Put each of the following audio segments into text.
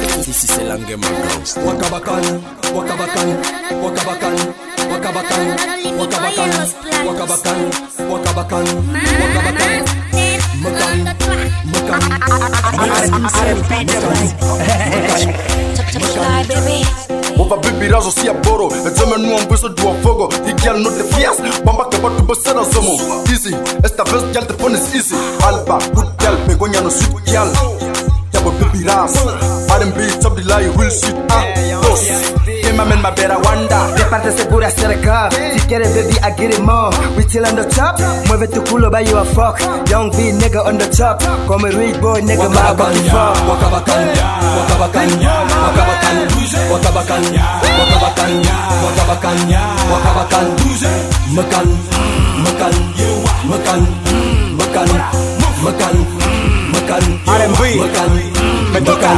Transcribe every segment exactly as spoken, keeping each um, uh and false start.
This is Elange Magans. Wakabakan, wakabakan, wakabakan, wakabakan, wakabakan, wakabakan, wakabakan, wakabakan, makan, makan, Ova baby razo si aboro, edzeme nu am văzut dua fogo. The girl no the fias, bamba que batu besera somo. Easy, esta vez girl te pones easy. Alba, good girl, begonia no sweet girl. Yabo baby razo, R and B top the lie real shit. Ah, boss, yeah my man, my better wonder. De parte segura cerca, si quieres baby I get it more. We chill on the top, mueve tu culo by you a fuck. Young V nigga on the top, come a real boy nigga my body fuck. Wakabakan, wakabakan, wakabakan, wakabakan, wakabakan, wakabakan, wakabakan, makan, makan, makan, makan, makan, makan, R and B, makan, me toca.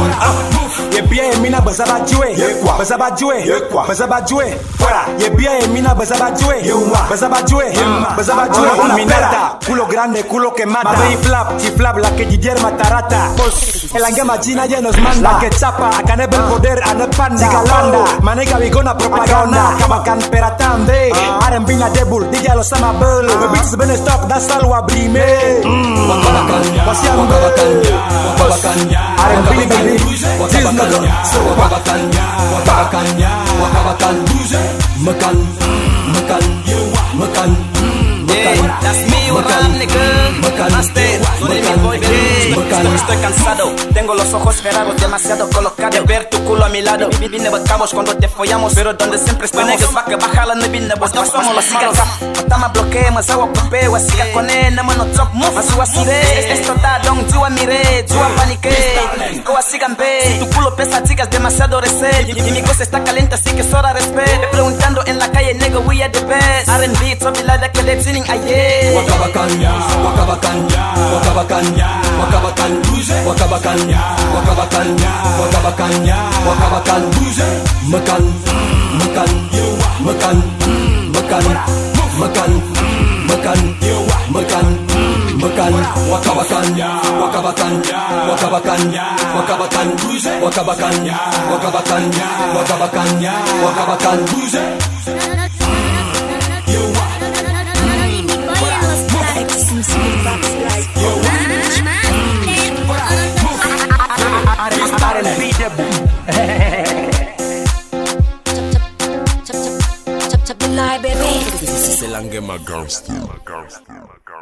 Ye bien mina bazaba jue, bazaba jue, bazaba jue, fuera. Ye bien mina bazaba jue, bazaba jue, bazaba jue. Minata, culo grande, culo que mata. Baby flap, chiflap, la que Didier Matarata. El angue machina ya nos manda. La que chapa, acá no el poder, a no panda. Chigalanda, manega vigona propaganda. Kabakan peratande, R and B na debul, DJ lo sama belu. Me bitches been stop, that's all wa brime. wakabakan, Wakabakan, wakabakan, R and B baby. wakabakan, wakabakan, wakabakan, wakabakan, makan, makan, makan, makan, That's me, makan, Ram, nigga. makan, Master, makan, boy, baby. makan. Estoy cansado, tengo los ojos cerrados, demasiado colocados. De ver tu culo a mi lado, vi- vine bacamos cuando te follamos. Pero donde siempre estamos, niggas va que baja la nevina. Vos no somos los malos. Otama bloquea, mas agua cope, wasiga con él, no mano top move. Asu asire, esto está don, tú a mire, tú a panique. Go asigan be, tu culo pesa, chicas, demasiado recel. Y, y mi cosa está caliente, así que es hora de respeto. Preguntando en la calle, nigga, we are the best. R and B, top la que le singing ayer. Wakabakan, wakabakan, wakabakan, wakabakan, wakabakan, wakabakan, wakabakan, wakabakan, makan, makan, makan, makan, makan, makan, makan, makan, wakabakan, wakabakan, wakabakan, wakabakan, wakabakan, wakabakan, wakabakan, wakabakan, R and B debut. This is Elange Magans.